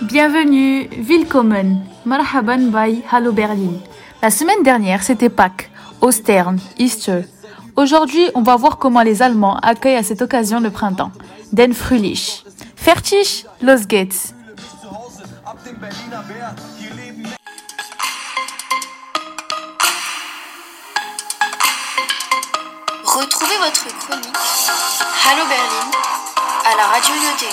Bienvenue, willkommen, marhaban bei Hallo Berlin. La semaine dernière, c'était Pâques, Ostern, Easter. Aujourd'hui, on va voir comment les Allemands accueillent à cette occasion le printemps. Den Frühling. Fertig, los geht's. Retrouvez votre chronique Hallo Berlin à la radio Yoté.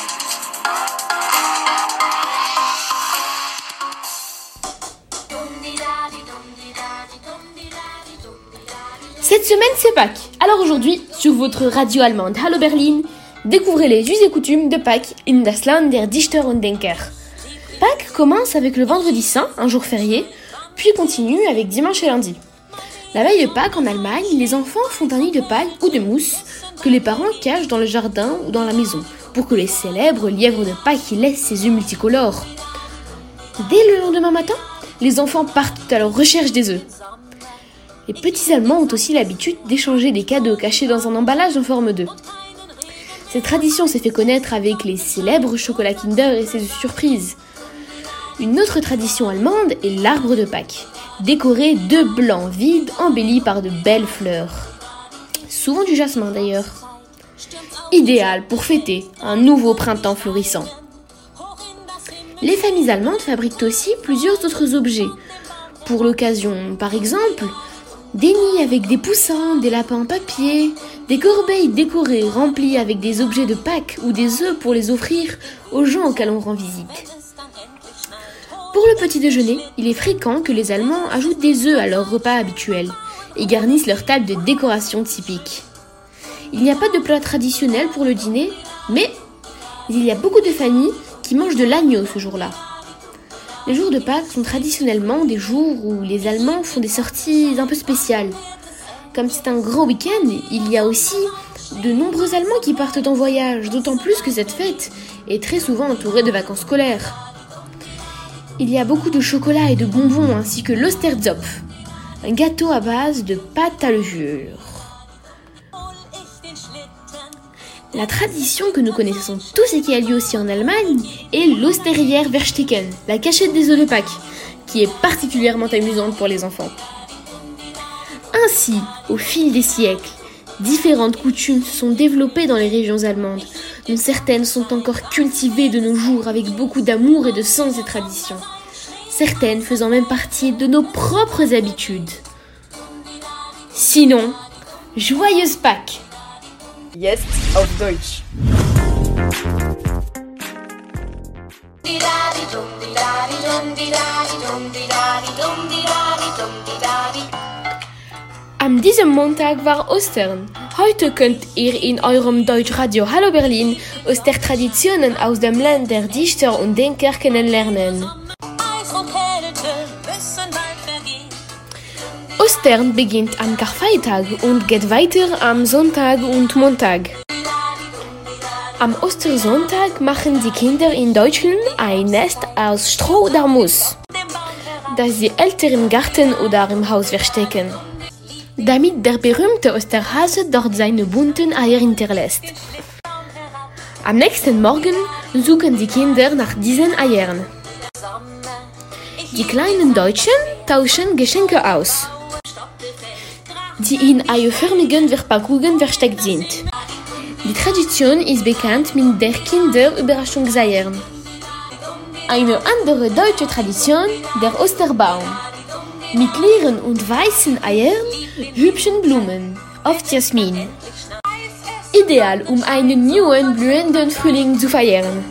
Cette semaine c'est Pâques. Alors aujourd'hui, sur votre radio allemande Hallo Berlin, découvrez les us et coutumes de Pâques in das Land der Dichter und Denker. Pâques commence avec le vendredi saint, un jour férié, puis continue avec dimanche et lundi. La veille de Pâques en Allemagne, les enfants font un nid de paille ou de mousse que les parents cachent dans le jardin ou dans la maison pour que les célèbres lièvres de Pâques y laissent ses œufs multicolores. Dès le lendemain matin, les enfants partent à leur recherche des œufs. Les petits Allemands ont aussi l'habitude d'échanger des cadeaux cachés dans un emballage en forme d'œuf. Cette tradition s'est fait connaître avec les célèbres chocolats Kinder et ses œufs surprises. Une autre tradition allemande est l'arbre de Pâques, décoré de blanc vide embelli par de belles fleurs. Souvent du jasmin d'ailleurs. Idéal pour fêter un nouveau printemps florissant. Les familles allemandes fabriquent aussi plusieurs autres objets pour l'occasion. Par exemple, des nids avec des poussins, des lapins en papier, des corbeilles décorées remplies avec des objets de Pâques ou des œufs pour les offrir aux gens auxquels on rend visite. Pour le petit déjeuner, il est fréquent que les Allemands ajoutent des œufs à leur repas habituel et garnissent leur table de décoration typique. Il n'y a pas de plat traditionnel pour le dîner, mais il y a beaucoup de familles qui mangent de l'agneau ce jour-là. Les jours de Pâques sont traditionnellement des jours où les Allemands font des sorties un peu spéciales. Comme c'est un grand week-end, il y a aussi de nombreux Allemands qui partent en voyage, d'autant plus que cette fête est très souvent entourée de vacances scolaires. Il y a beaucoup de chocolat et de bonbons ainsi que l'Osterzopf, un gâteau à base de pâte à levure. La tradition que nous connaissons tous et qui a lieu aussi en Allemagne est l'Osterjährverstecken, la cachette des œufs de Pâques, qui est particulièrement amusante pour les enfants. Ainsi, au fil des siècles, différentes coutumes se sont développées dans les régions allemandes, dont certaines sont encore cultivées de nos jours avec beaucoup d'amour et de sens et traditions, certaines faisant même partie de nos propres habitudes. Sinon, joyeuse Pâques! Jetzt auf Deutsch. Am diesem Montag war Ostern. Heute könnt ihr in eurem Deutschradio Hallo Berlin Ostertraditionen aus dem Land der Dichter und Denker kennenlernen. Ostern beginnt am Karfreitag und geht weiter am Sonntag und Montag. Am Ostersonntag machen die Kinder in Deutschland ein Nest aus Stroh oder Moos, das sie Eltern im Garten oder im Haus verstecken, damit der berühmte Osterhase dort seine bunten Eier hinterlässt. Am nächsten Morgen suchen die Kinder nach diesen Eiern. Die kleinen Deutschen tauschen Geschenke aus, die in eierförmigen Verpackungen versteckt sind. Die Tradition ist bekannt mit der Kinderüberraschungseiern. Eine andere deutsche Tradition, der Osterbaum. Mit leeren und weißen Eiern, hübschen Blumen, oft Jasmin. Ideal, um einen neuen, blühenden Frühling zu feiern.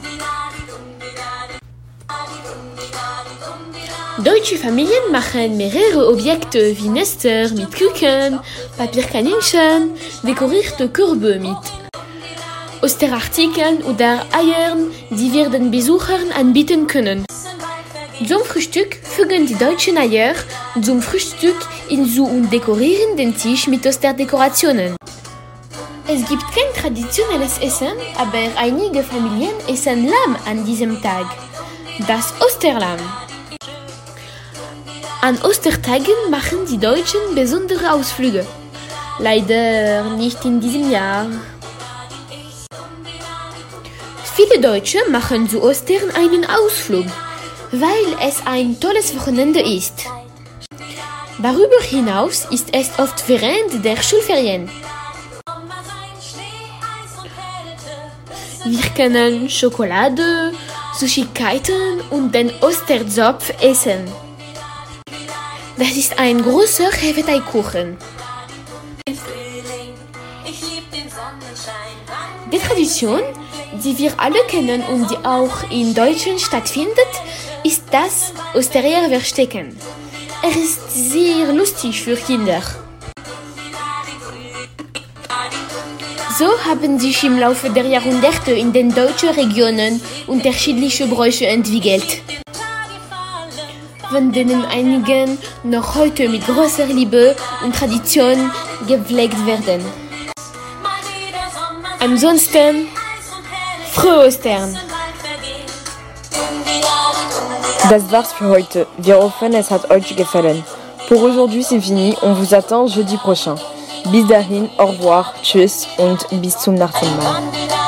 Deutsche Familien machen mehrere Objekte wie Nester mit Küken, Papierkaninchen, dekorierte Körbe mit Osterartikeln oder Eiern, die wir den Besuchern anbieten können. Zum Frühstück fügen die Deutschen Eier zum Frühstück hinzu und dekorieren den Tisch mit Osterdekorationen. Es gibt kein traditionelles Essen, aber einige Familien essen Lamm an diesem Tag. Das Osterlamm. An Ostertagen machen die Deutschen besondere Ausflüge. Leider nicht in diesem Jahr. Viele Deutsche machen zu Ostern einen Ausflug, weil es ein tolles Wochenende ist. Darüber hinaus ist es oft während der Schulferien. Wir können Schokolade, Süßigkeiten und den Osterzopf essen. Das ist ein großer Hefeteigkuchen. Die Tradition, die wir alle kennen und die auch in Deutschland stattfindet, ist das Ostereierverstecken. Es ist sehr lustig für Kinder. So haben sich im Laufe der Jahrhunderte in den deutschen Regionen unterschiedliche Bräuche entwickelt, von denen einige noch heute mit großer Liebe und Tradition gepflegt werden. Ansonsten, frohe Ostern! Das war's für heute. Wir hoffen, es hat euch gefallen. Pour aujourd'hui, c'est fini. On vous attend jeudi prochain. Bis dahin, au revoir, tschüss und bis zum nächsten Mal.